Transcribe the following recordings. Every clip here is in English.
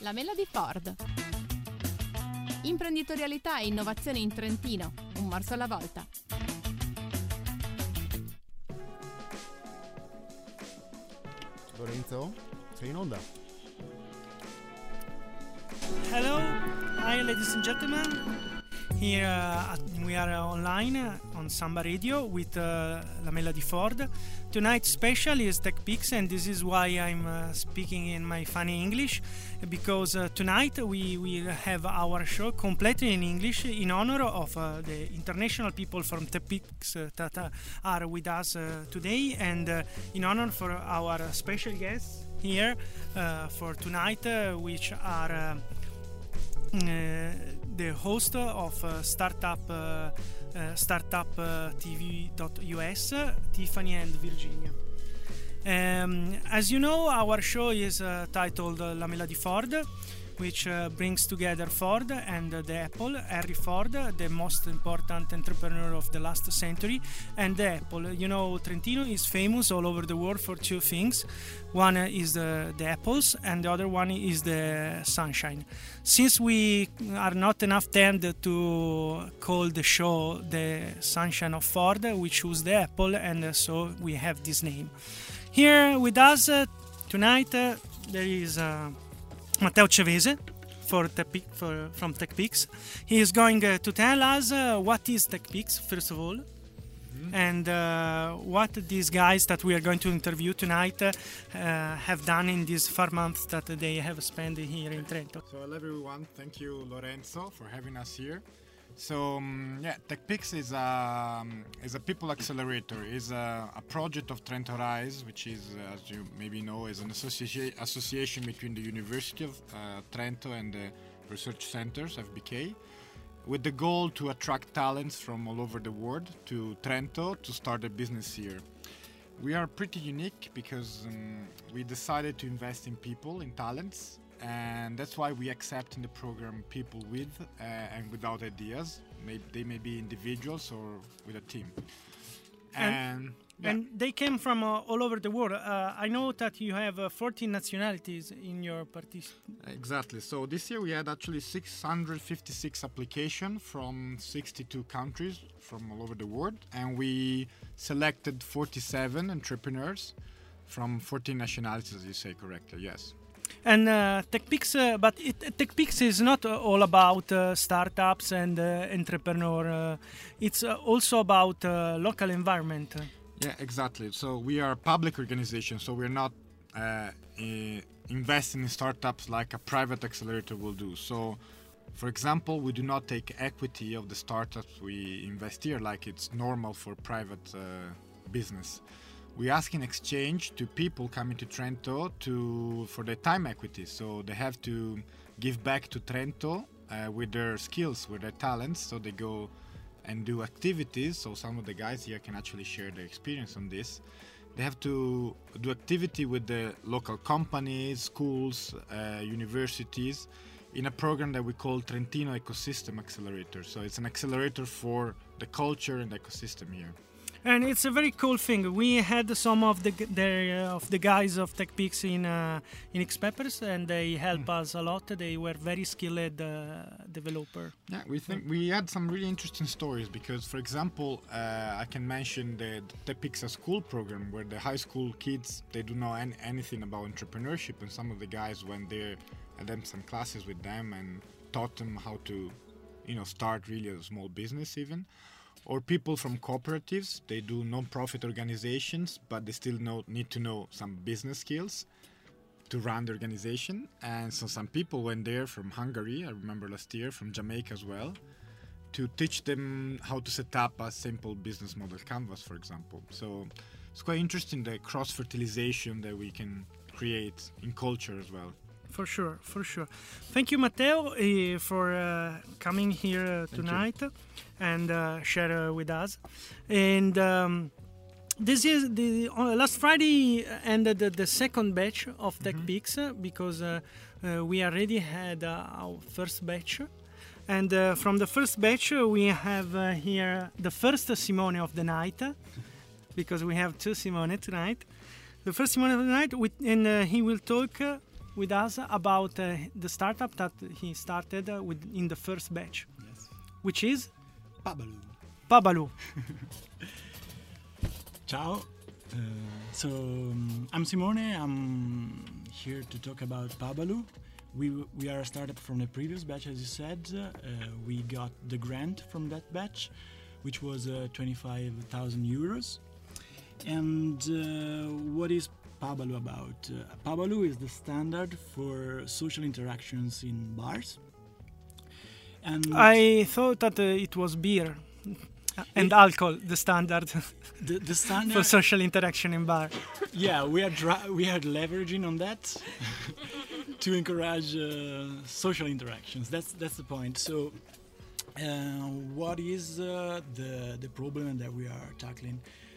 La Melody Ford. Imprenditorialità e innovazione in Trentino, un morso alla volta. Lorenzo, sei in onda. Hello, hi ladies and gentlemen. Here we are online on Samba Radio with La Melody Ford. Tonight's special is TechPix, and this is why I'm speaking in my funny English, because tonight we will have our show completely in English in honor of the international people from TechPix that are with us today, and in honor for our special guests here for tonight, which are the host of StartupTV.us, Tiffany and Virginia. As you know, our show is titled La Melody Ford, which brings together Ford and the Apple. Henry Ford, the most important entrepreneur of the last century, and the Apple. You know, Trentino is famous all over the world for two things. One is the apples, and the other one is the sunshine. Since we are not enough tend to call the show the Sunshine of Ford, we choose the Apple, and so we have this name. Here with us tonight there is Matteo Cevese from TechPix. He is going to tell us what is TechPix, first of all, and what these guys that we are going to interview tonight have done in these 4 months that they have spent here in Trento. So hello everyone, thank you Lorenzo for having us here. So TechPix is a people accelerator. Is a project of Trento Rise, which is, as you maybe know, is an association between the University of Trento and the research centers, FBK, with the goal to attract talents from all over the world to Trento to start a business here. We are pretty unique because we decided to invest in people, in talents, and that's why we accept in the program people with and without ideas. They may be individuals or with a team. And they came from all over the world. I know that you have 14 nationalities in your participation. Exactly. So this year we had actually 656 applications from 62 countries from all over the world, and we selected 47 entrepreneurs from 14 nationalities, as you say correctly. Yes. And TechPix, but TechPix is not all about startups and entrepreneur. It's also about local environment. Yeah, exactly. So we are a public organization, so we're not investing in startups like a private accelerator will do. So, for example, we do not take equity of the startups we invest here like it's normal for private business. We ask in exchange to people coming to Trento for their time equity. So they have to give back to Trento with their skills, with their talents. So they go and do activities. So some of the guys here can actually share their experience on this. They have to do activity with the local companies, schools, universities in a program that we call Trentino Ecosystem Accelerator. So it's an accelerator for the culture and ecosystem here. And it's a very cool thing. We had some of the guys of TechPix in Xpeppers, and they helped us a lot. They were very skilled developer. Yeah, we think we had some really interesting stories because, for example, I can mention the TechPix School program where the high school kids, they don't know anything about entrepreneurship, and some of the guys went there and done some classes with them and taught them how to, start really a small business even. Or people from cooperatives, they do non-profit organizations, but they still need to know some business skills to run the organization. And so some people went there from Hungary, I remember last year, from Jamaica as well, to teach them how to set up a simple business model canvas, for example. So it's quite interesting, the cross-fertilization that we can create in culture as well. For sure. Thank you, Matteo, for coming here tonight and share with us. And this is the last Friday ended the second batch of TechPix because we already had our first batch. And from the first batch, we have here the first Simone of the night, because we have two Simone tonight. The first Simone of the night, and he will talk with us about the startup that he started in the first batch, Yes. which is Pabaloo. Pabaloo. Ciao. I'm Simone. I'm here to talk about Pabaloo. We are a startup from the previous batch, as you said. We got the grant from that batch, which was 25,000 euros. And what is Pabaloo about? Pabaloo is the standard for social interactions in bars. And I thought that it was beer and alcohol, the standard the standard for social interaction in bar. Yeah, we are leveraging on that to encourage social interactions. That's the point. So, what is the problem that we are tackling?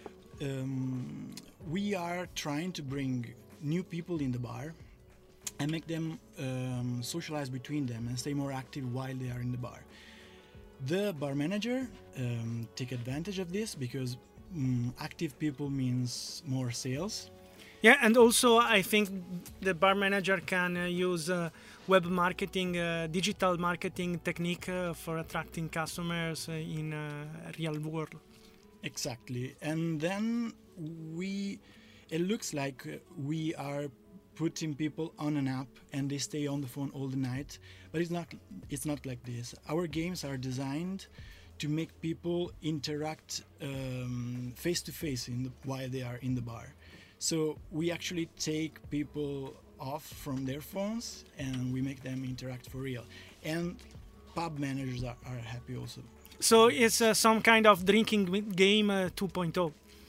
We are trying to bring new people in the bar and make them socialize between them and stay more active while they are in the bar. The bar manager take advantage of this because active people means more sales. Yeah, and also I think the bar manager can use web marketing, digital marketing technique for attracting customers in real world. Exactly, and then it looks like we are putting people on an app and they stay on the phone all the night, but it's not like this. Our games are designed to make people interact face to face while they are in the bar. So we actually take people off from their phones and we make them interact for real. And pub managers are happy also. So it's some kind of drinking game 2.0.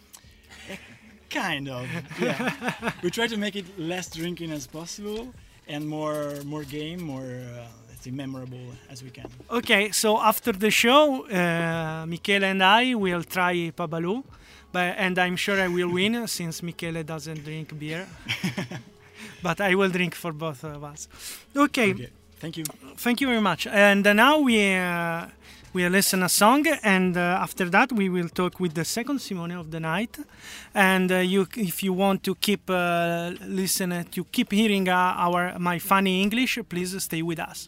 Kind of, yeah. We try to make it less drinking as possible and more game, more let's say memorable as we can. Okay, so after the show, Michele and I will try Pabaloo, and I'm sure I will win since Michele doesn't drink beer. But I will drink for both of us. Okay. Thank you. Thank you very much. And now we listen a song, and after that we will talk with the second Simone of the night. And if you want to keep listening, to keep hearing my funny English, please stay with us.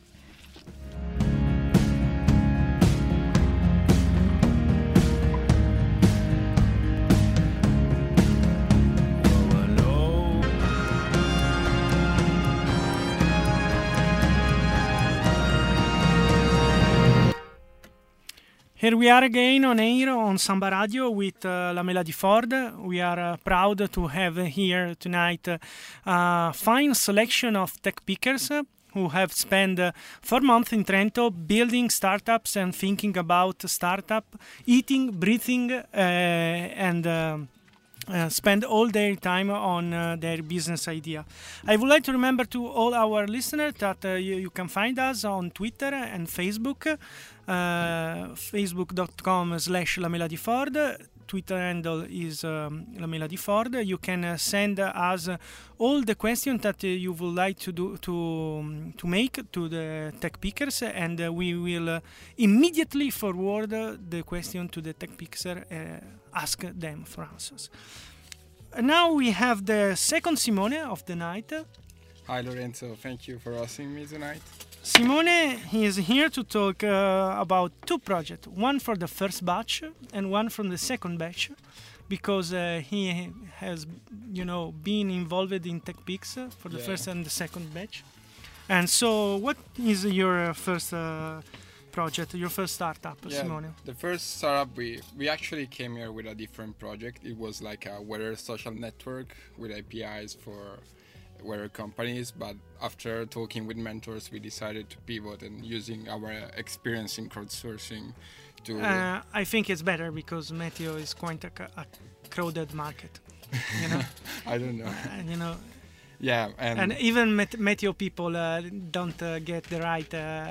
Here we are again on air on Samba Radio with Lamela Di Ford. We are proud to have here tonight a fine selection of tech pickers who have spent 4 months in Trento building startups and thinking about startup, eating, breathing, and spend all their time on their business idea. I would like to remember to all our listeners that you can find us on Twitter and Facebook, facebook.com/Lamela Di Ford. Twitter handle is Lamela Di Ford. You can send us all the questions that you would like to make to the tech pickers, and we will immediately forward the question to the tech picker, ask them for answers. Now we have the second Simone of the night. Hi Lorenzo, thank you for hosting me tonight. Simone is here to talk about 2 projects, one for the first batch and one from the second batch, because he has, been involved in TechPix for the first and the second batch. And so, what is your first project, your first startup, Simone? The first startup, we actually came here with a different project. It was like a weather social network with APIs for weather companies, but after talking with mentors we decided to pivot and using our experience in crowdsourcing to I think it's better because Meteo is quite a crowded market, I don't know. Yeah, and even Meteo people don't get the right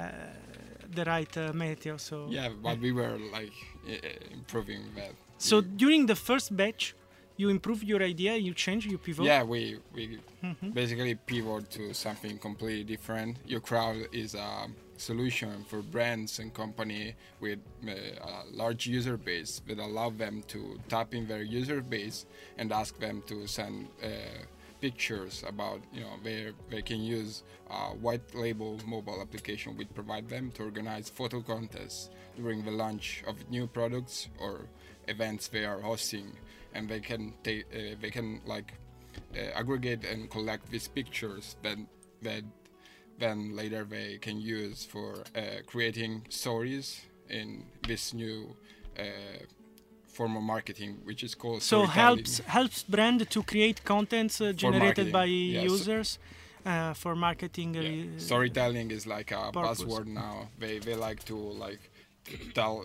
Meteo, so yeah, but we were like improving that. So during the first batch you improve your idea, you change, you pivot? Yeah, we basically pivot to something completely different. Your crowd is a solution for brands and company with a large user base that allow them to tap in their user base and ask them to send pictures about, where they can use white label mobile application we provide them to organize photo contests during the launch of new products or events they are hosting, and they can aggregate and collect these pictures that then later they can use for creating stories in this new form of marketing, which is called storytelling. helps brand to create contents generated by users for marketing. Storytelling is like a purpose. buzzword now. They like to tell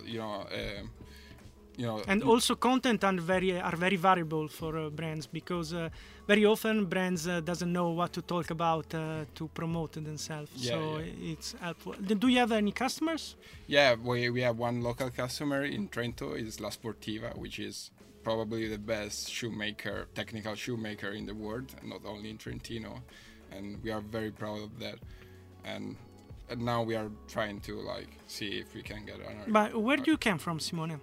and also content are very variable for brands, because very often brands doesn't know what to talk about to promote themselves. It's helpful. Do you have any customers? Yeah, we have one local customer in Trento, is La Sportiva, which is probably the best technical shoemaker in the world, not only in Trentino, and we are very proud of that. And now we are trying to see if we can get another. But where do you come from, Simone?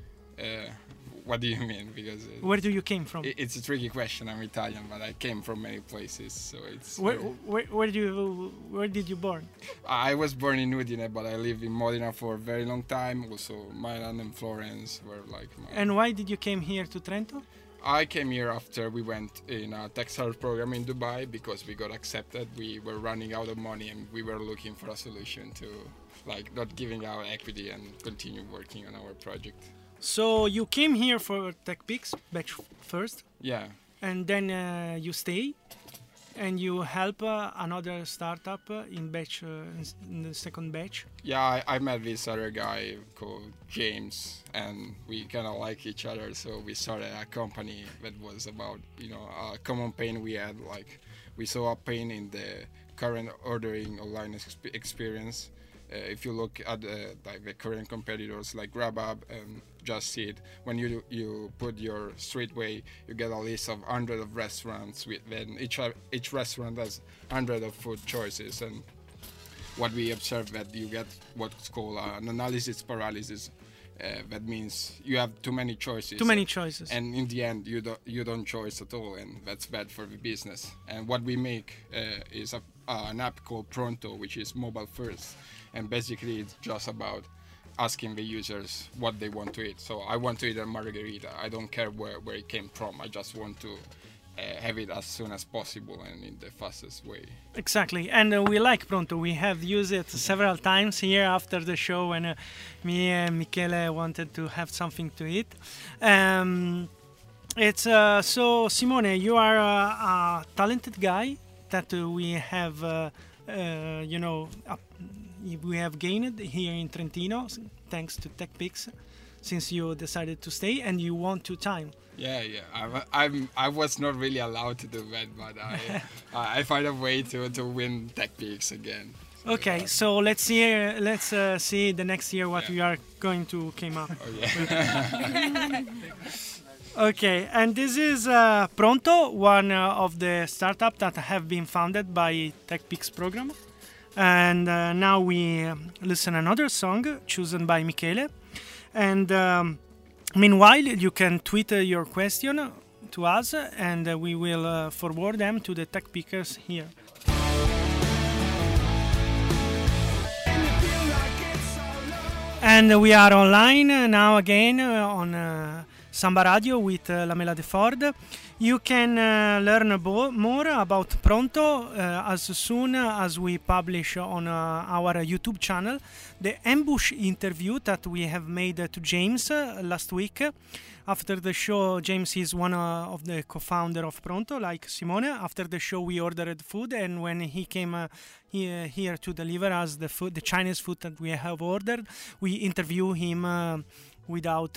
What do you mean? Because where do you came from? It's a tricky question. I'm Italian, but I came from many places, so it's. Where did you born? I was born in Udine, but I lived in Modena for a very long time. Also, Milan and Florence were And why did you came here to Trento? I came here after we went in a textile program in Dubai because we got accepted. We were running out of money and we were looking for a solution to not giving our equity and continue working on our project. So you came here for TechPix batch first? Yeah. And then you stay and you help another startup in the second batch? Yeah, I met this other guy called James, and we kind of like each other, so we started a company that was about, a common pain we had. We saw a pain in the current ordering online experience. If you look at the current competitors like Grubhub and Just Eat, when you put your streetway, you get a list of hundreds of restaurants. Then each restaurant has hundreds of food choices, and what we observed that you get what's called an analysis paralysis. That means you have too many choices. And in the end, you don't choose at all, and that's bad for the business. And what we make is an app called Pronto, which is mobile first. And basically, it's just about asking the users what they want to eat. So I want to eat a margarita. I don't care where it came from. I just want to have it as soon as possible and in the fastest way. Exactly. And we like Pronto. We have used it several times here after the show when me and Michele wanted to have something to eat. So Simone, you are a talented guy that we have, we have gained here in Trentino thanks to TechPix, since you decided to stay and you want to time. Yeah. I was not really allowed to do that, but I find a way to win TechPix again. So okay, so let's see the next year what we are going to come up. Oh yeah. Okay, and this is Pronto, one of the startups that have been founded by TechPix program. And now we listen another song chosen by Michele. And meanwhile, you can tweet your question to us, and we will forward them to the tech pickers here. And we are online now again on Samba Radio with Lamela De Ford. You can learn more about Pronto as soon as we publish on our YouTube channel the ambush interview that we have made to James last week. After the show, James is one of the co-founder of Pronto, like Simone. After the show, we ordered food, and when he came here to deliver us the food, the Chinese food that we have ordered, we interview him without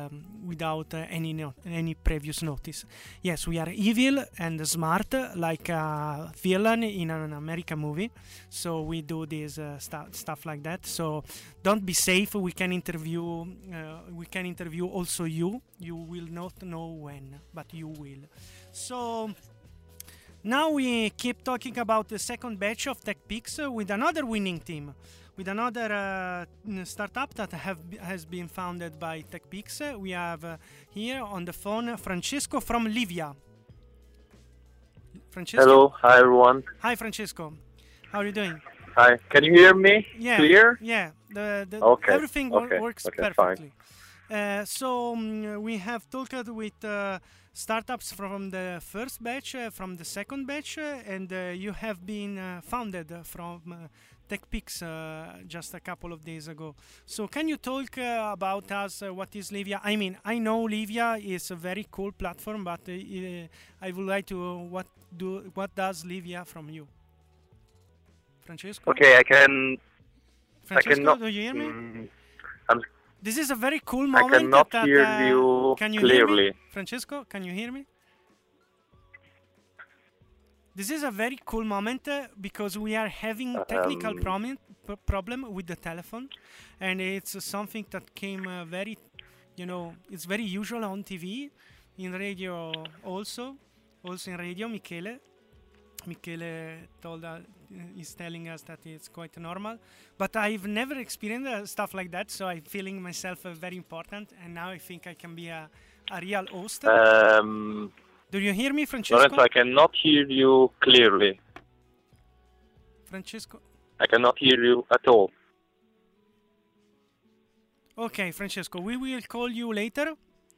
any previous notice. Yes, we are evil and smart, like a villain in an American movie. So we do this stuff like that. So don't be safe. We can interview. We can interview also you. You will not know when, but you will. So now we keep talking about the second batch of TechPix with another winning team. With another startup that has been founded by TechPix. We have here on the phone Francesco from Livia. Francesco? Hello, hi everyone. Hi, Francesco. How are you doing? Hi, can you hear me? Yeah. Clear? Yeah. Okay, Everything okay, works okay, fine. perfectly. We have talked with startups from the first batch, from the second batch, and you have been founded from TechPix just a couple of days ago. So can you talk about us? What is Livia? I mean, I know Livia is a very cool platform, but I would like to what does Livia from you, Francesco? Okay, Francesco, cannot. do you hear me? I'm, This is a very cool I moment. cannot that, hear you can you hear me? clearly. Francesco, can you hear me? This is a very cool moment because we are having technical problem with the telephone, and it's something that came very, it's very usual on TV, in radio also in radio. Michele told us, is telling us that it's quite normal, but I've never experienced stuff like that, so I'm feeling myself very important, and now I think I can be a real host. Do you hear me, Francesco? Lorenzo, I cannot hear you clearly. Francesco? I cannot hear you at all. Okay, Francesco, we will call you later.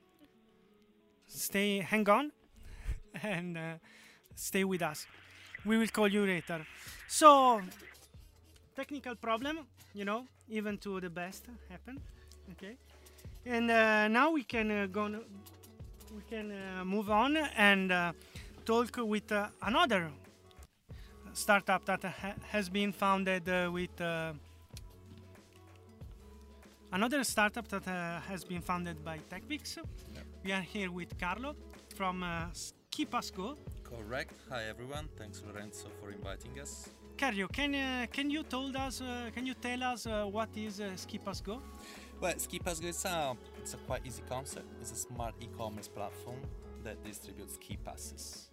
Hang on, and stay with us. We will call you later. So, technical problem, even to the best happen. Okay, and now we can move on and talk with another startup that has been founded with another startup that has been founded by TechPix. Yep. We are here with Carlo from SkiPassGo. Correct. Hi everyone. Thanks Lorenzo for inviting us. Carlo, can you tell us what is SkiPassGo? Well, SkiPassGo it's a quite easy concept. It's a smart e-commerce platform that distributes ski passes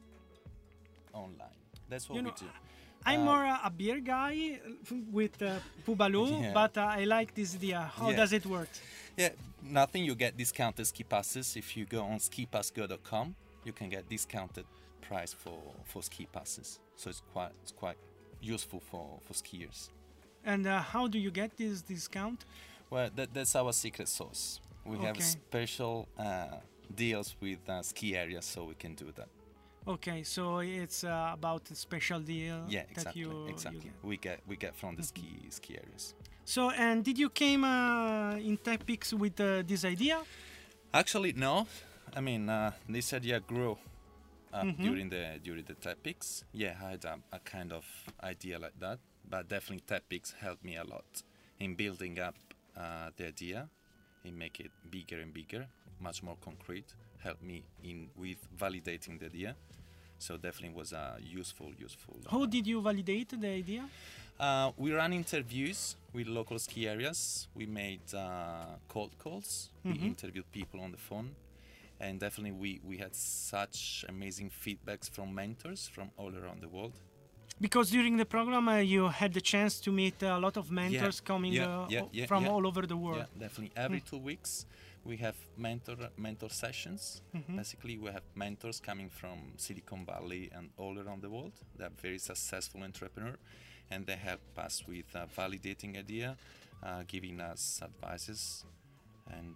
online. That's what we do. I'm more a beer guy with Pubalu, but I like this idea. How does it work? Yeah, nothing. You get discounted ski passes. If you go on skipassgo.com, you can get discounted price for ski passes. So it's quite useful for skiers. And how do you get this discount? Well, that's our secret sauce. We have special deals with ski areas, so we can do that. Okay, so it's about a special deal. Yeah, exactly. That you get. We get from the ski areas. So, and did you came in TechPix with this idea? Actually, no. I mean, this idea grew during the TechPix. Yeah, I had a kind of idea like that, but definitely TechPix helped me a lot in building up the idea, in make it bigger and bigger, much more concrete. Helped me with validating the idea. So definitely was a useful. How did you validate the idea? We ran interviews with local ski areas. We made cold calls. We interviewed people on the phone. And definitely we had such amazing feedbacks from mentors from all around the world. Because during the program you had the chance to meet a lot of mentors coming from all over the world. Yeah, definitely. Every 2 weeks we have mentor sessions. Basically we have mentors coming from Silicon Valley and all around the world. They are very successful entrepreneurs, and they help us with validating idea, giving us advices, and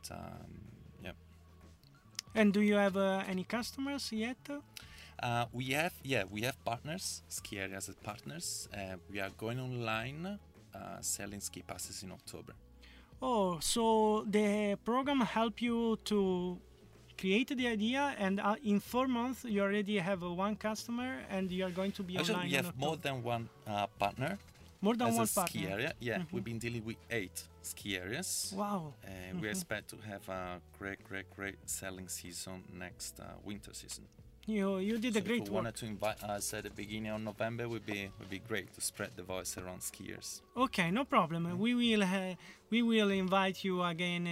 And do you have any customers yet? We have partners, ski areas as partners. We are going online selling ski passes in October. Oh, so the program helped you to create the idea, and in 4 months you already have one customer, and you are going to be Actually, online. we have more than one partner. More than as one a partner. Ski area. Yeah, we've been dealing with 8 ski areas. Wow. We expect to have a great selling season next winter season. You did a great work. If you wanted to invite us at the beginning of November, would be great to spread the voice around skiers. Okay, no problem. We will invite you again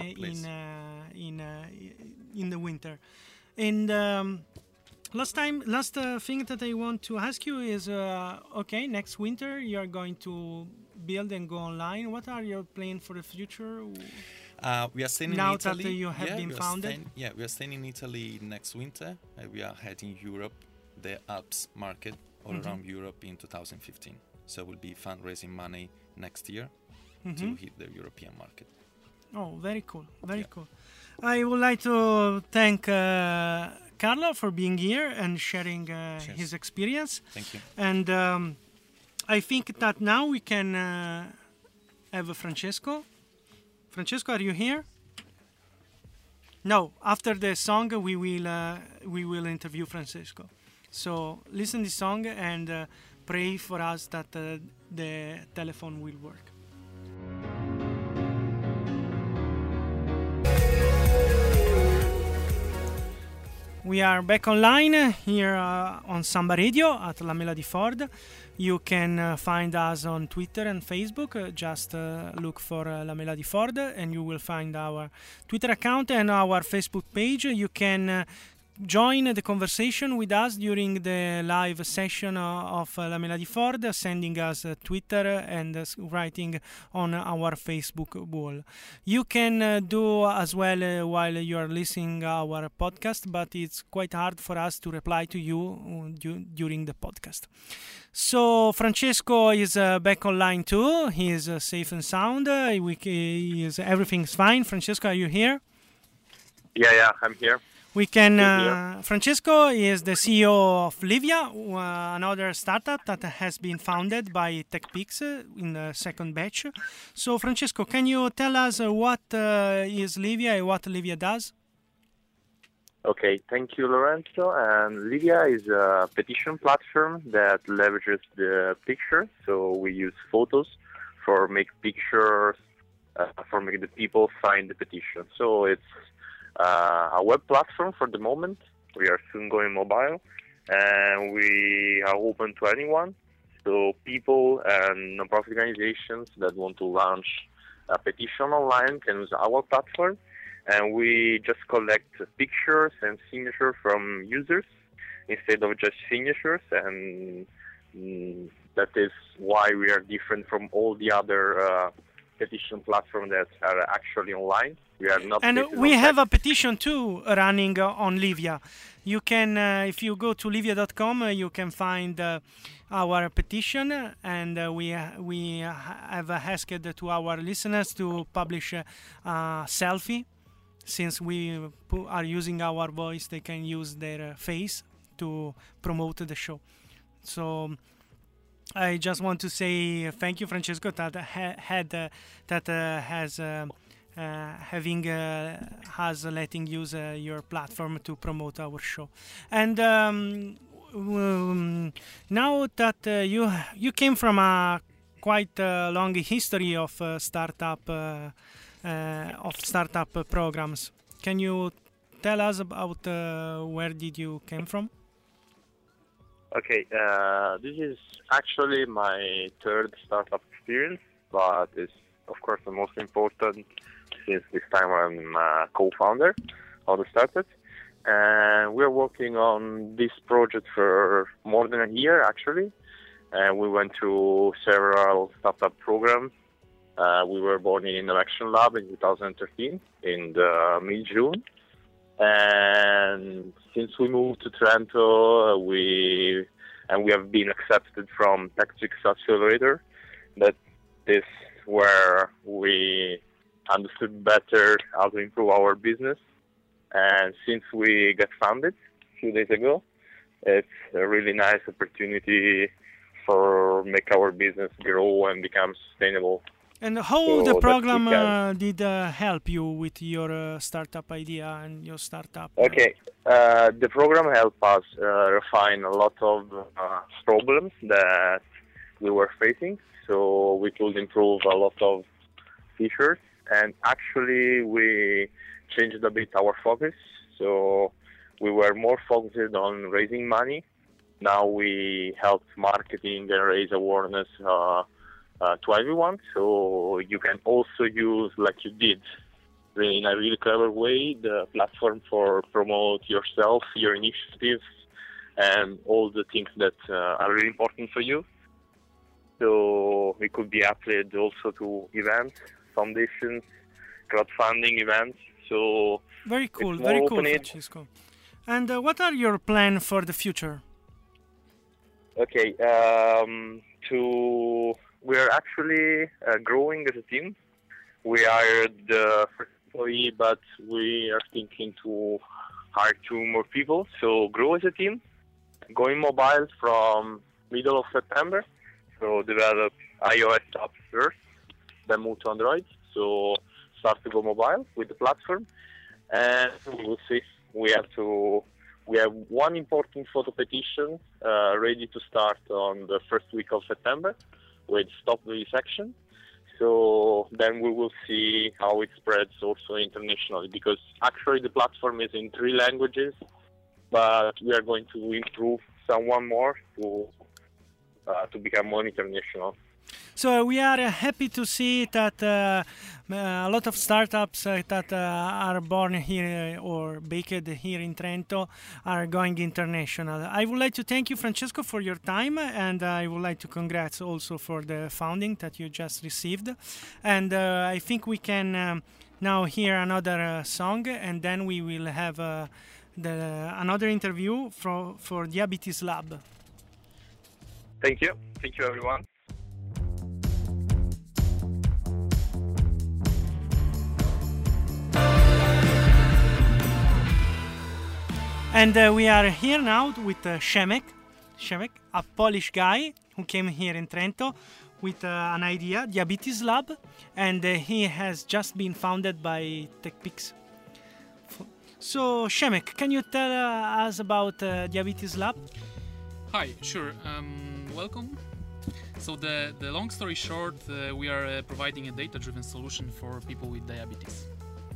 in the winter. And last thing that I want to ask you is, okay, next winter you are going to build and go online. What are your plans for the future? We are staying in Italy. Now that you have been founded? We are staying in Italy next winter. We are heading Europe the Alps market all around Europe in 2015. So we'll be fundraising money next year to hit the European market. Oh, very cool, very cool. I would like to thank Carlo for being here and sharing his experience. Thank you. And I think that now we can have Francesco. Francesco, are you here? No. After the song, we will interview Francesco. So listen to the song and pray for us that the telephone will work. We are back online here on Samba Radio at La Melody Ford. You can find us on Twitter and Facebook. Just look for La Melody Ford and you will find our Twitter account and our Facebook page. You can join the conversation with us during the live session of La Melody Ford, sending us Twitter and writing on our Facebook wall. You can do as well while you are listening our podcast, but it's quite hard for us to reply to you during the podcast. So Francesco is back online too. He is safe and sound. Everything's fine. Francesco, are you here? Yeah, I'm here. We can. Francesco is the CEO of Livia, another startup that has been founded by TechPix in the second batch. So, Francesco, can you tell us what is Livia and what Livia does? Okay, thank you, Lorenzo. And Livia is a petition platform that leverages the picture. So we use photos for make pictures, for make the people sign the petition. So it's a web platform for the moment. We are soon going mobile, and we are open to anyone. So people and non-profit organizations that want to launch a petition online can use our platform, and we just collect pictures and signatures from users instead of just signatures, and that is why we are different from all the other petition platforms that are actually online. We are not. And we have a petition too running on Livia. You can, if you go to livia.com, you can find our petition, and we have asked to our listeners to publish a selfie. Since we are using our voice, they can use their face to promote the show. So I just want to say thank you, Francesco, that has having us letting use your platform to promote our show. And now that you came from a quite long history of startup programs, can you tell us about where did you came from? Okay, this is actually my third startup experience, but it's of course the most important since this time I'm a co-founder of the startup. And we're working on this project for more than a year actually. And we went through several startup programs. We were born in Innovation Lab in 2013 in the mid-June. And since we moved to Trento, we have been accepted from TechPix Accelerator. That is where we understood better how to improve our business. And since we got founded a few days ago, it's a really nice opportunity for make our business grow and become sustainable. And how the program did help you with your startup idea and your startup? Okay, the program helped us refine a lot of problems that we were facing, so we could improve a lot of features. And actually, we changed a bit our focus, so we were more focused on raising money. Now we help marketing and raise awareness to everyone, so you can also use, like you did, in a really clever way, the platform for promote yourself, your initiatives, and all the things that are really important for you. So it could be applied also to events, foundations, crowdfunding events. So very cool, Francesco. And what are your plans for the future? Okay. We're actually growing as a team. We hired the first employee, but we are thinking to hire 2 more people. So grow as a team. Going mobile from middle of September. So develop iOS apps first, then move to Android. So start to go mobile with the platform, and we'll see. We have one important photo petition ready to start on the first week of September with stop vivisection. So then we will see how it spreads also internationally, because actually the platform is in 3 languages, but we are going to improve one more to become more international. So we are happy to see that a lot of startups that are born here or baked here in Trento are going international. I would like to thank you, Francesco, for your time, and I would like to congrats also for the founding that you just received. And I think we can now hear another song, and then we will have another interview for Diabetes Lab. Thank you. Thank you, everyone. And we are here now with Szemek, a Polish guy who came here in Trento with an idea, Diabetes Lab, and he has just been founded by TechPix. So, Szemek, can you tell us about Diabetes Lab? Hi, sure. Welcome. So the long story short, we are providing a data-driven solution for people with diabetes.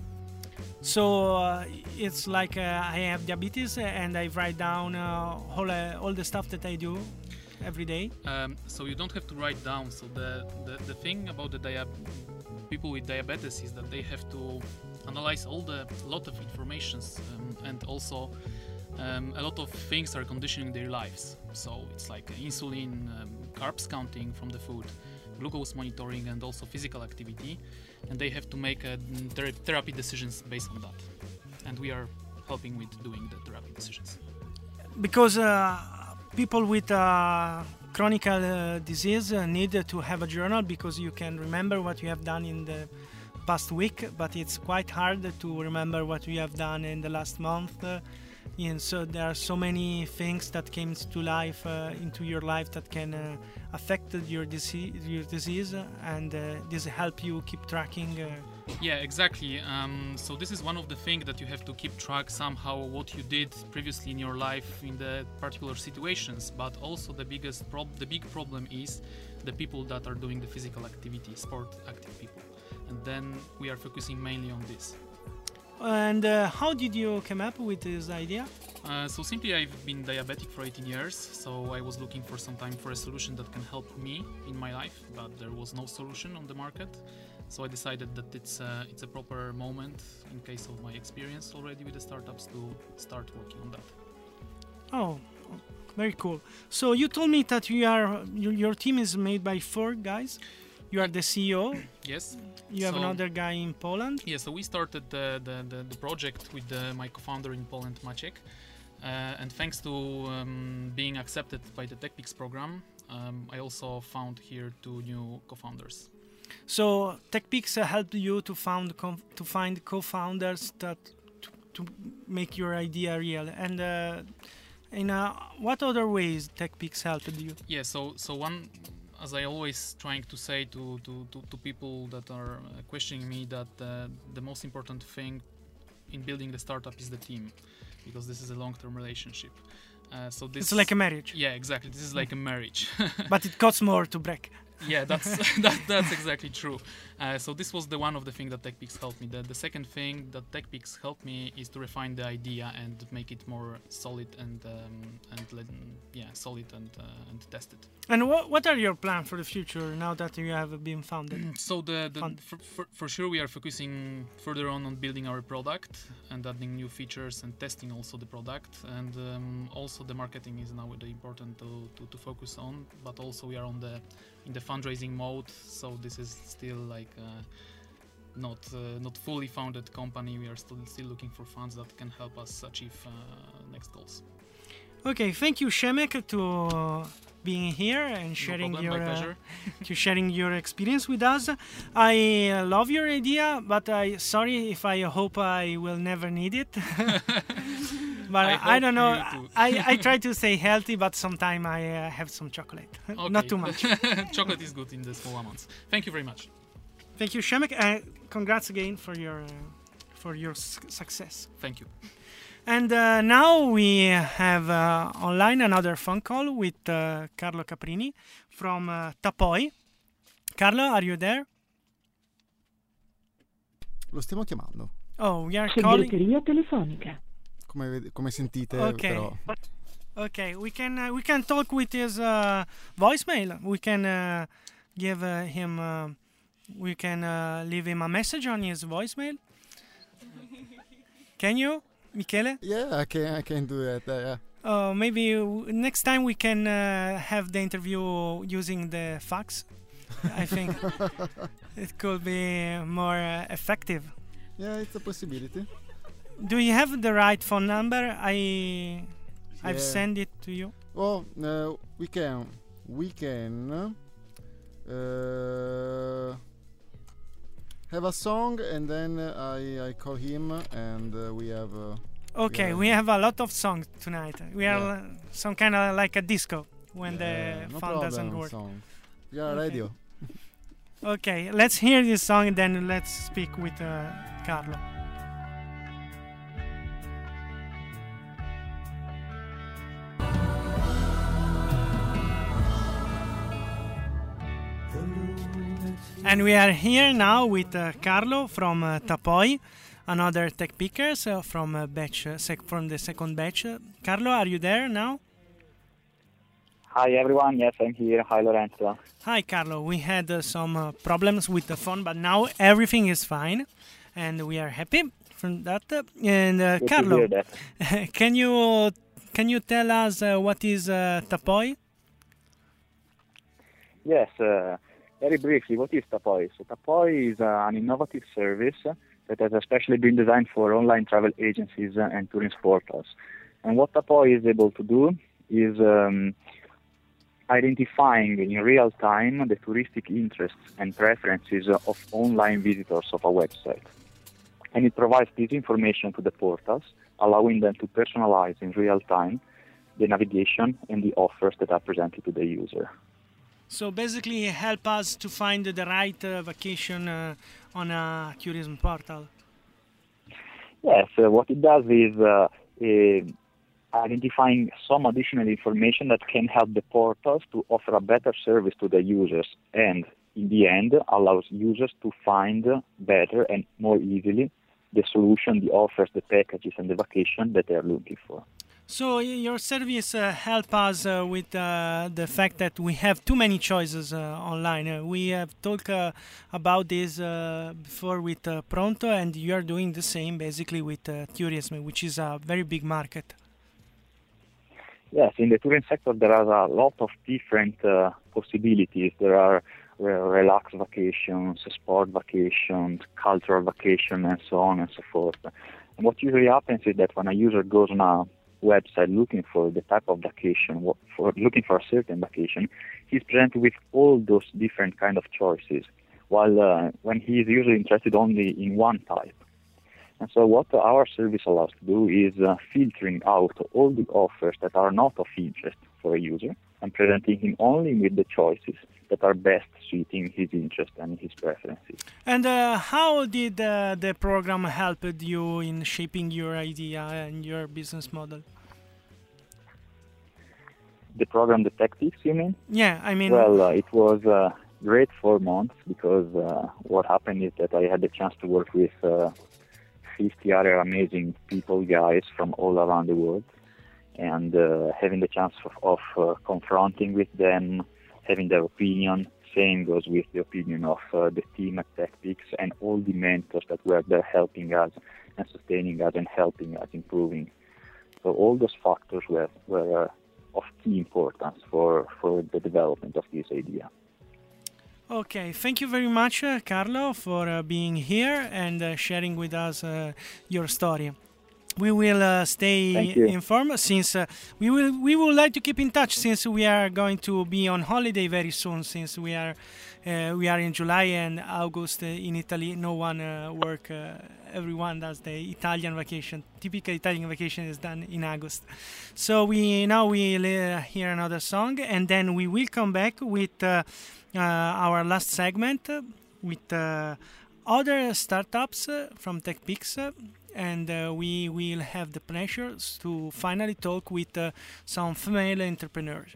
So it's like I have diabetes and I write down all the stuff that I do every day. So you don't have to write down. So the thing about the people with diabetes is that they have to analyze a lot of informations and also a lot of things are conditioning their lives. So it's like insulin, carbs counting from the food, glucose monitoring, and also physical activity. And they have to make therapy decisions based on that. And we are helping with doing the therapy decisions. Because people with chronic disease need to have a journal, because you can remember what you have done in the past week, but it's quite hard to remember what you have done in the last month. And so there are so many things that came to life into your life that can affect your disease, and this help you keep tracking. Yeah, exactly. So this is one of the things that you have to keep track somehow what you did previously in your life in the particular situations. But also the big problem is the people that are doing the physical activity, sport active people, and then we are focusing mainly on this. And how did you come up with this idea? So simply I've been diabetic for 18 years, so I was looking for some time for a solution that can help me in my life, but there was no solution on the market. So I decided that it's a proper moment, in case of my experience already with the startups, to start working on that. Oh, very cool. So you told me that your team is made by 4 guys. You are the CEO. Yes. You have another guy in Poland. Yeah, so we started the project with my co-founder in Poland, Maciek. And thanks to being accepted by the TechPix program, I also found here 2 new co-founders. So TechPix helped you to find co-founders to make your idea real. And in what other ways TechPix helped you? Yeah, so one, as I always trying to say to people that are questioning me, that the most important thing in building the startup is the team, because this is a long-term relationship. So this it's like a marriage. Yeah, exactly. This is like a marriage. But it costs more to break. Yeah, that's exactly true. So this was one of the things that TechPix helped me. The second thing that TechPix helped me is to refine the idea and make it more solid and tested. And what are your plans for the future now that you have been founded? So for sure we are focusing further on building our product and adding new features and testing also the product, and also the marketing is now important to focus on. But also we are in the fundraising mode, so this is still like not fully founded company. We are still looking for funds that can help us achieve next goals. Okay, thank you, Shemek, to being here and sharing problem, my pleasure. to sharing your experience with us. I love your idea, but sorry if I hope I will never need it. But I don't know. I try to stay healthy, but sometimes I have some chocolate. Not too much. Chocolate is good in the small amounts. Thank you very much. Thank you, Shemek. Congrats again for your success. Thank you. And now we have online another phone call with Carlo Caprini from Tapoi. Carlo, are you there? Lo stiamo chiamando. Oh, we are calling. Segreteria telefonica. Come sentite, Okay. però. Okay, we can talk with his voicemail. We can give him. We can leave him a message on his voicemail. Can you, Michele? Yeah, I can do that. Yeah. Maybe next time we can have the interview using the fax. I think it could be more effective. Yeah, it's a possibility. Do you have the right phone number? I've Yeah. sent it to you. Oh, we can have a song, and then I call him, and we have. Okay, we have a lot of songs tonight. We are some kind of like a disco when the no phone doesn't problem, work. song. We are Okay. radio. Okay, let's hear this song and then let's speak with Carlo. And we are here now with Carlo from Tapoi, another tech pickers from from the second batch. Carlo, are you there now? Hi everyone, yes I'm here. Hi Lorenzo. Hi Carlo, we had some problems with the phone, but now everything is fine, and we are happy from that. And Good to Carlo, hear that. can you tell us what is Tapoi? Yes, very briefly, what is Tapoi? So Tapoi is an innovative service that has especially been designed for online travel agencies and tourism portals. And what Tapoi is able to do is identifying in real time the touristic interests and preferences of online visitors of a website. And it provides this information to the portals, allowing them to personalize in real time the navigation and the offers that are presented to the user. So basically help us to find the right vacation on a tourism portal. Yes, what it does is identifying some additional information that can help the portals to offer a better service to the users, and in the end allows users to find better and more easily the solution, the offers, the packages and the vacation that they are looking for. So your service help us with the fact that we have too many choices online. We have talked about this before with Pronto, and you are doing the same basically with tourism, which is a very big market. Yes, in the tourism sector there are a lot of different possibilities. There are relaxed vacations, sport vacations, cultural vacations, and so on and so forth. And what usually happens is that when a user goes on a website looking for the type of vacation, looking for a certain vacation, he's presented with all those different kind of choices, while when he is usually interested only in one type. And so what our service allows to do is filtering out all the offers that are not of interest for a user and presenting him only with the choices that are best suiting his interest and his preferences. And how did the program help you in shaping your idea and your business model? The program, the Tactics, you mean? Yeah, I mean... Well, it was a great 4 months because what happened is that I had the chance to work with 50 other amazing people, guys from all around the world, and having the chance of confronting with them, having their opinion. Same goes with the opinion of the team at TechPix and all the mentors that were there helping us and sustaining us and helping us improving. So all those factors were of key importance for the development of this idea. Okay, thank you very much, Carlo, for being here and sharing with us your story. we will stay informed since we would like to keep in touch since we are going to be on holiday very soon since we are in July and August in Italy. No one work. Everyone does the Italian vacation. Typical Italian vacation is done in August. So we hear another song and then we will come back with our last segment with other startups from TechPix. And we will have the pleasure to finally talk with some female entrepreneurs.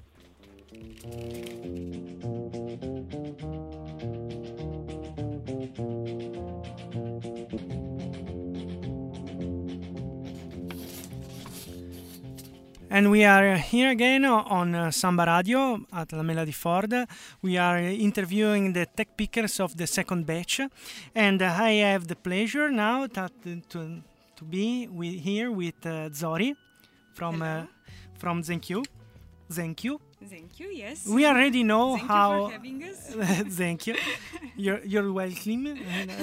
And we are here again on Samba Radio at La Mela di Ford. We are interviewing the tech pickers of the second batch. And I have the pleasure now to be here with Zori from ZenQ. ZenQ. ZenQ, yes. We already know Thank how. you for having us. Thank you. You're welcome.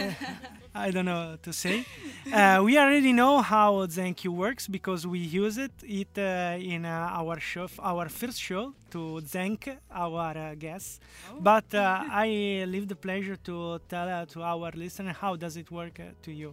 I don't know what to say. We already know how ZenQ works because we use it in our show, our first show, to thank our guests. Oh. But I leave the pleasure to tell to our listener how does it work to you.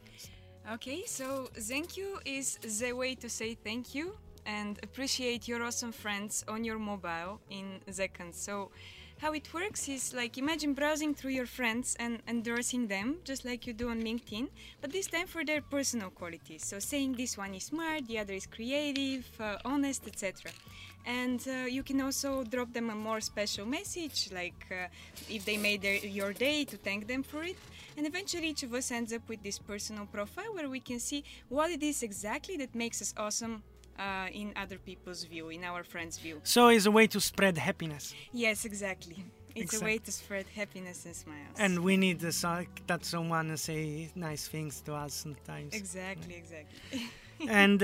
Okay, so ZenQ is the way to say thank you and appreciate your awesome friends on your mobile in seconds. So how it works is like imagine browsing through your friends and endorsing them just like you do on LinkedIn, but this time for their personal qualities. So saying this one is smart, the other is creative, honest, etc. And you can also drop them a more special message, like if they made your day, to thank them for it. And eventually each of us ends up with this personal profile where we can see what it is exactly that makes us awesome in other people's view, in our friends' view. So it's a way to spread happiness. Yes, exactly. It's a way to spread happiness and smiles. And we need that someone say nice things to us sometimes. Exactly. And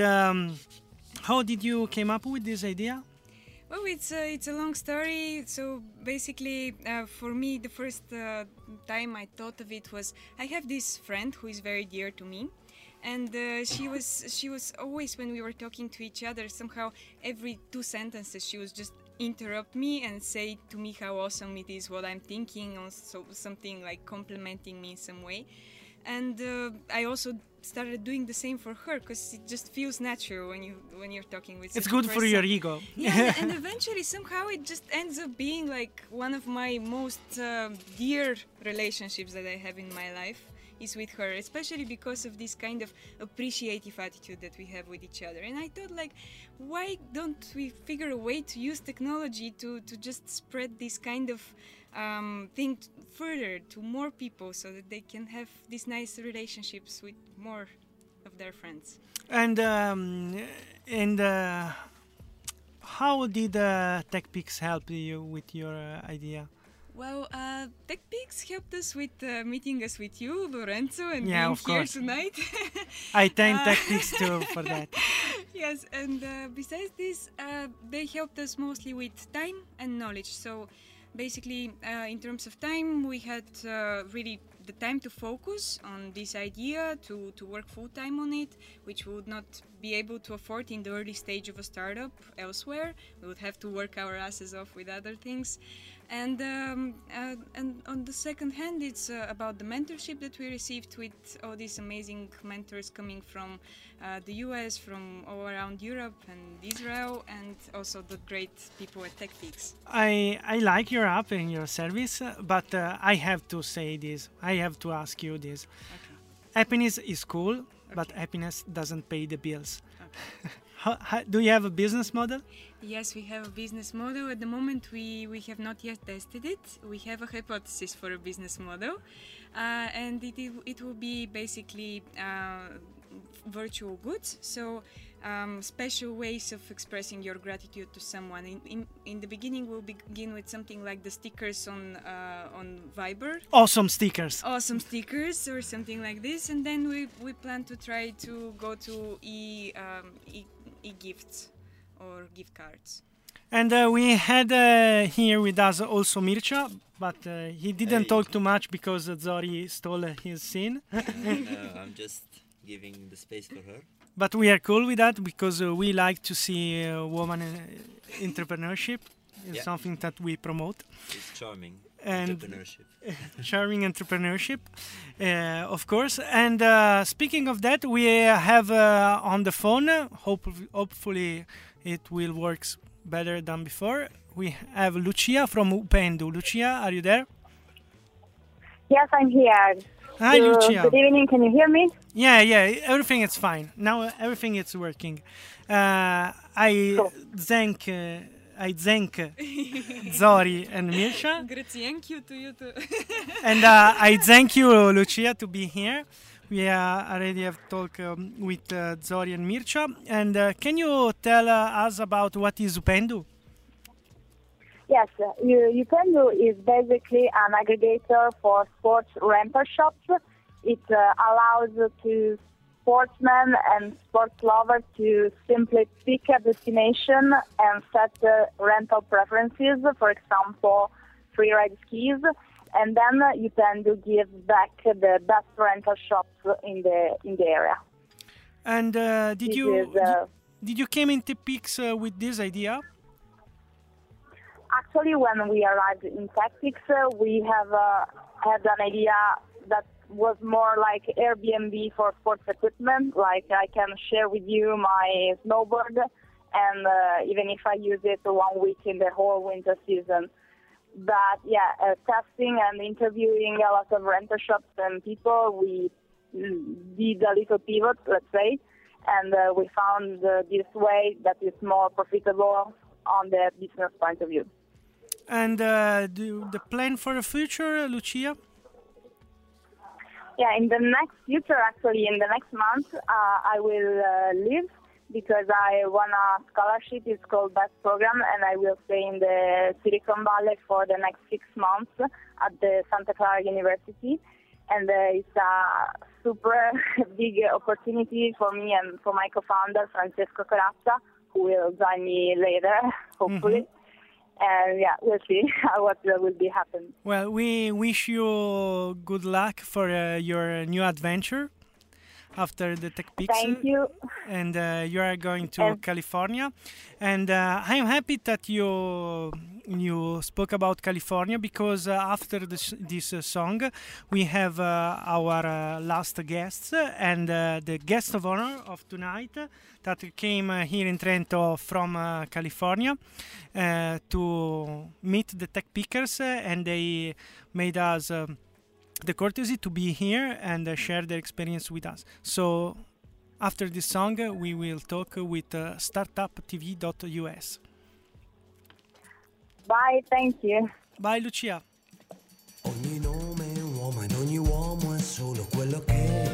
how did you came up with this idea? Well, it's a long story. So basically, for me, the first time I thought of it was I have this friend who is very dear to me. And she was always, when we were talking to each other, somehow every 2 sentences she was just interrupt me and say to me how awesome it is what I'm thinking, or something like complimenting me in some way. And I also started doing the same for her because it just feels natural when you're talking with. It's good for your ego. Yeah, and eventually somehow it just ends up being like one of my most dear relationships that I have in my life. Is with her, especially because of this kind of appreciative attitude that we have with each other. And I thought, like, why don't we figure a way to use technology to just spread this kind of thing further to more people so that they can have these nice relationships with more of their friends. And how did TechPix help you with your idea? Well, TechPix helped us with meeting us with you, Lorenzo, and yeah, being of here course. tonight. I thank TechPix too for that. Yes, and besides this, they helped us mostly with time and knowledge. So basically, in terms of time, we had really the time to focus on this idea, to work full-time on it, which we would not be able to afford in the early stage of a startup elsewhere. We would have to work our asses off with other things. And on the second hand, it's about the mentorship that we received with all these amazing mentors coming from the US, from all around Europe and Israel, and also the great people at TechPix. I like your app and your service, but I have to say this. I have to ask you this. Okay. Happiness is cool, but happiness doesn't pay the bills. Okay. Do you have a business model? Yes, we have a business model. At the moment, we have not yet tested it. We have a hypothesis for a business model, and it will be basically virtual goods. So special ways of expressing your gratitude to someone. In the beginning, we'll begin with something like the stickers on Viber. Awesome stickers. Awesome stickers or something like this, and then we plan to try to go to e-gifts or gift cards. And we had here with us also Mircea, but he didn't talk too much because Zori stole his scene. No, I'm just giving the space for her. But we are cool with that because we like to see woman entrepreneurship. It's something that we promote. It's charming. And entrepreneurship. Charming entrepreneurship, of course. And speaking of that, we have on the phone, hopefully it will work better than before. We have Lucia from Upendo. Lucia, are you there? Yes, I'm here. Hi, Lucia. Good evening. Can you hear me? Yeah, everything is fine. Now everything is working. I thank Zori and Mircha. Thank you to you too. And I thank you, Lucia, to be here. We already have talked with Zori and Mircha. And can you tell us about what is Upendo? Yes, Upendo is basically an aggregator for sports rental shops. It allows to sportsmen and sports lovers to simply pick a destination and set rental preferences, for example, free ride skis, and then Upendo gives back the best rental shops in the area. And did you came into Pix with this idea? Actually, when we arrived in Tactics, we have had an idea that was more like Airbnb for sports equipment. Like I can share with you my snowboard, and even if I use it 1 week in the whole winter season. But testing and interviewing a lot of rental shops and people, we did a little pivot, let's say, and we found this way that is more profitable on the business point of view. And the plan for the future, Lucia? Yeah, in the next future, actually, in the next month, I will leave because I won a scholarship. It's called BEST program, and I will stay in the Silicon Valley for the next 6 months at the Santa Clara University. And it's a super big opportunity for me and for my co-founder, Francesco Corazza, who will join me later, hopefully. Mm-hmm. And we'll see what will be happening. Well, we wish you good luck for your new adventure after the TechPix. Thank you. And you are going to California. And I'm happy that you spoke about California because after this song, we have our last guests and the guest of honor of tonight that came here in Trento from California to meet the tech pickers, and they made us the courtesy to be here and share their experience with us. So after this song, we will talk with startuptv.us. Bye, thank you. Bye, Lucia. Ogni nome è un uomo ed ogni uomo è solo quello che è.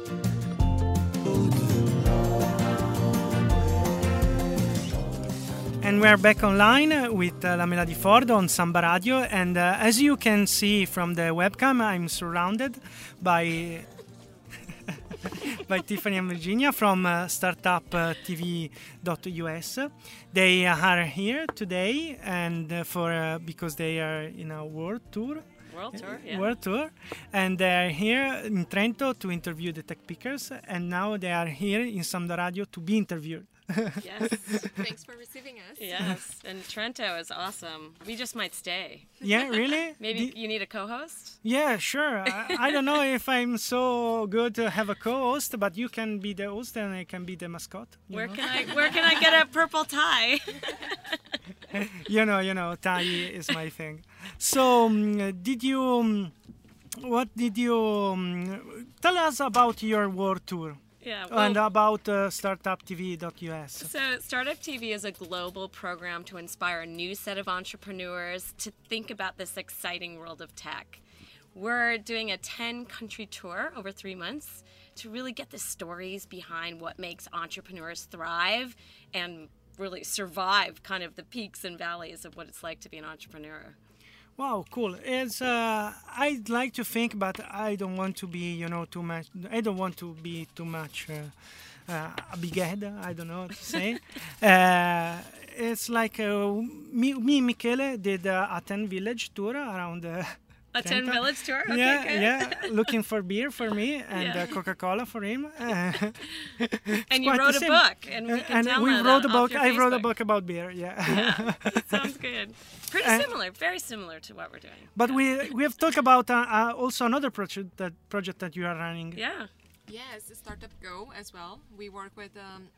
And we are back online with Lamela Di Ford on Samba Radio, and as you can see from the webcam, I'm surrounded by by Tiffany and Virginia from startuptv.us. They are here today, and because they are in a world tour. World tour, and they're here in Trento to interview the tech pickers, and now they are here in Samba Radio to be interviewed. Yes. Thanks for receiving us. Yes, and Trento is awesome. We just might stay. Yeah, really? Maybe you need a co-host? Yeah, sure. I don't know if I'm so good to have a co-host, but you can be the host and I can be the mascot. Where can I get a purple tie? you know, tie is my thing. So, what did you tell us about your world tour? Yeah, and about startuptv.us. So Startup TV is a global program to inspire a new set of entrepreneurs to think about this exciting world of tech. We're doing a 10-country tour over 3 months to really get the stories behind what makes entrepreneurs thrive and really survive kind of the peaks and valleys of what it's like to be an entrepreneur. Wow, cool. It's I'd like to think, but I don't want to be, too much. I don't want to be too much a big head. I don't know what to say. It's like me and Michele did a 10 village tour around A 10 village tour? Okay, yeah, good. yeah. Looking for beer for me and Coca-Cola for him. And you wrote a book, and we can download wrote a that book. off your I wrote a Facebook. book about beer. Yeah. Sounds good. Pretty similar, very similar to what we're doing. But we have talked about also another project that you are running. Yeah. Yes, Startup Go as well. We work with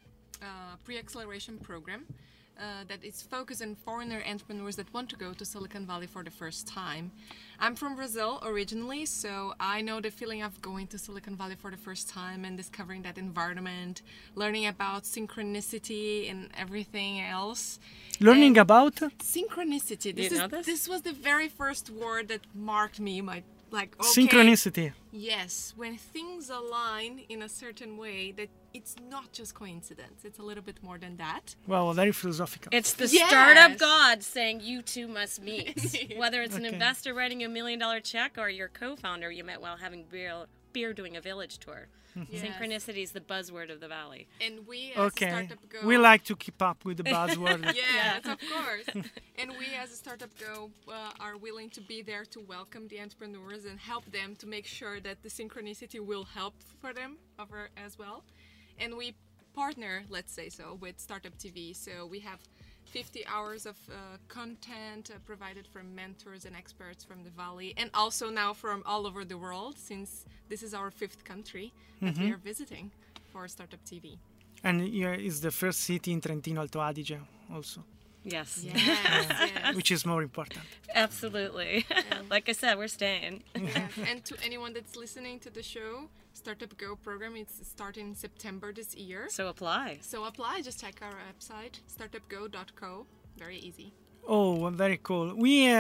a pre-acceleration program that is focused on foreigner entrepreneurs that want to go to Silicon Valley for the first time. I'm from Brazil originally, so I know the feeling of going to Silicon Valley for the first time and discovering that environment, learning about synchronicity and everything else. Learning about? Synchronicity. Do you know this? This was the very first word that marked me. Okay, Synchronicity. yes, when things align in a certain way, that it's not just coincidence. It's a little bit more than that. Wow, very philosophical. It's the Yes. startup god saying you two must meet. Whether it's an Okay. investor writing you $1 million check or your co-founder you met while having beer doing a village tour. Yes. Synchronicity is the buzzword of the valley. And we as Okay. Startup Go... We like to keep up with the buzzword. Yes, of course. And we as a Startup Go are willing to be there to welcome the entrepreneurs and help them to make sure that the synchronicity will help for them over as well. And we partner, let's say so, with Startup TV. So we have 50 hours of content provided from mentors and experts from the Valley, and also now from all over the world, since this is our 5th country that we are visiting for Startup TV. And here is the first city in Trentino Alto Adige also, Yes. Yes. which is more important. Absolutely. Like I said, we're staying. Yes. And to anyone that's listening to the show, Startup Go program, it's starting in September this year. So apply. So apply, just check our website, startupgo.co. Very easy. Oh, very cool. We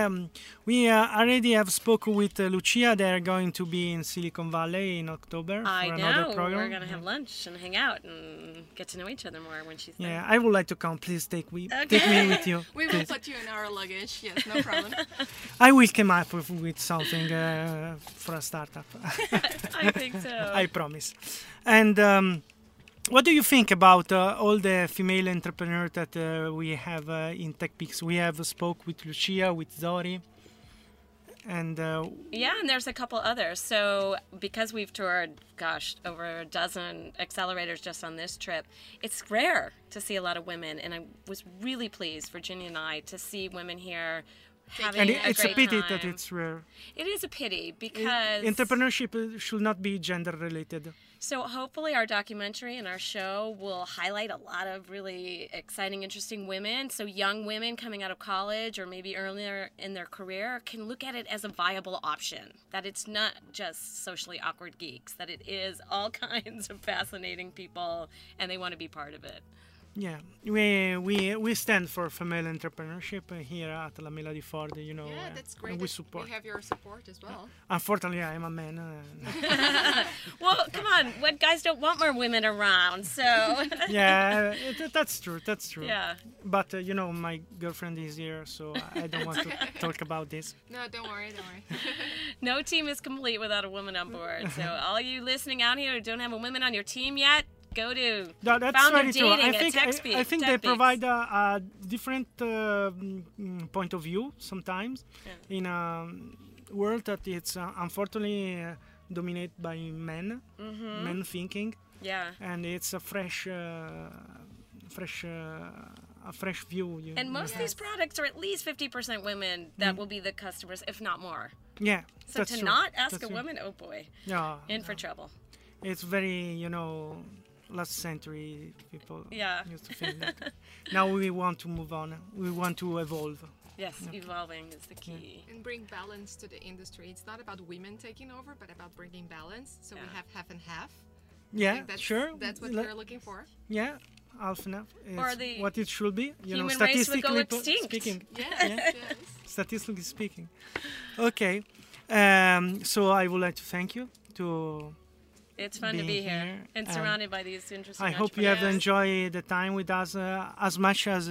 already have spoken with Lucia. They're going to be in Silicon Valley in October I for know. another program. We're going to have lunch and hang out and get to know each other more when she's there. Yeah, I would like to come. Please take me with you. We will please. put you in our luggage. Yes, no problem. I will come up with something for a startup. I think so. I promise. And what do you think about all the female entrepreneurs that we have in TechPix? We have spoke with Lucia, with Zori, and Yeah, and there's a couple others. So because we've toured, gosh, over a dozen accelerators just on this trip, it's rare to see a lot of women. And I was really pleased, Virginia and I, to see women here having and a it's great a pity time. that it's rare. It is a pity because Entrepreneurship should not be gender related. So hopefully our documentary and our show will highlight a lot of really exciting, interesting women. So young women coming out of college or maybe earlier in their career can look at it as a viable option. That it's not just socially awkward geeks, that it is all kinds of fascinating people and they want to be part of it. Yeah, we stand for female entrepreneurship here at La Mela di Ford. You know, Yeah, that's great. and we that support. We have your support as well. Unfortunately, I'm a man. Well, come on, what guys don't want more women around, so... Yeah, that's true. That's true. Yeah. But you know, my girlfriend is here, so I don't want to talk about this. No, don't worry. No team is complete without a woman on board. So all you listening out here who don't have a woman on your team yet, go to No, that's Founder very true. Dating I think at TechSpeak. I think they provide a different point of view sometimes in a world that it's unfortunately dominated by men, men thinking. Yeah. And it's a fresh view. And most of these products are at least 50% women that will be the customers, if not more. Yeah. So that's to true. not ask That's a true. woman, oh boy, Yeah. in for trouble. It's very, last century people Yeah. used to think that. Now we want to move on. We want to evolve. Yes, evolving is the key. And bring balance to the industry. It's not about women taking over, but about bringing balance. So we have half and half. I Yeah, think that's, sure. That's what we're looking for. Yeah, half and half. Or It's the what it should be. human race would go extinct. speaking. Yes. Statistically speaking. Okay. So I would like to thank you to. It's fun to be being here and surrounded by these interesting I hope you have entrepreneurs. enjoyed the time with us as much as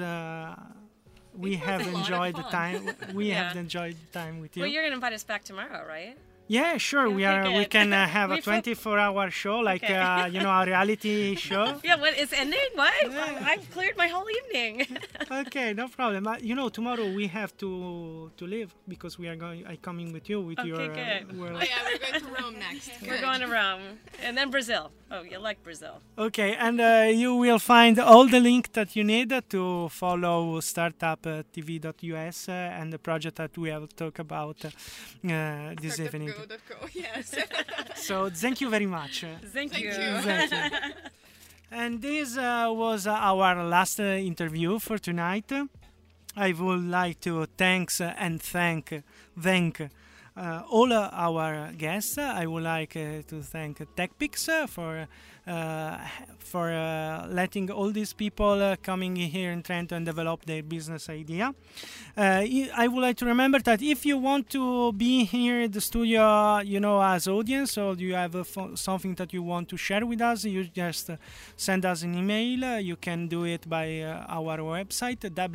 we have enjoyed the time. We have enjoyed the time with you. Well, you're going to invite us back tomorrow, right? Yeah, sure. We can have a 24-hour show, like a reality show. Yeah, what is ending? What? I've cleared my whole evening. Okay, no problem. Tomorrow we have to leave because we are going. I'm coming with you with your. Good. We're going to Rome next. We're going to Rome and then Brazil. Oh, you like Brazil? Okay, and you will find all the link that you need to follow startuptv.us and the project that we have talked about this evening. Yes. So thank you very much. Thank you. Thank you. And this was our last interview for tonight. I would like to thank all our guests. I would like to thank TechPix for letting all these people coming here in Trento and develop their business idea. I would like to remember that if you want to be here in the studio, as audience, or you have something that you want to share with us, you just send us an email. You can do it by our website,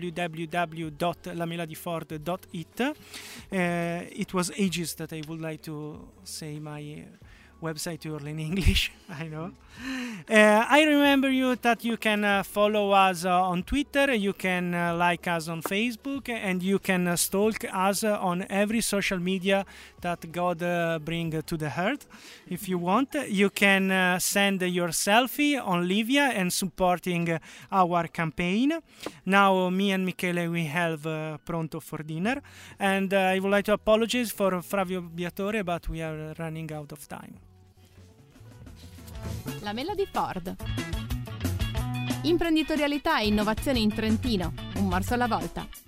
www.lameladiford.it. It was ages that I would like to say my website to in English. I know. I remember you that you can follow us on Twitter, you can like us on Facebook, and you can stalk us on every social media that God bring to the earth. If you want, you can send your selfie on Livia and supporting our campaign. Now me and Michele, we have pronto for dinner, and I would like to apologize for Flavio Biatore, but we are running out of time. La Mela di Ford. Imprenditorialità e innovazione in Trentino, un morso alla volta.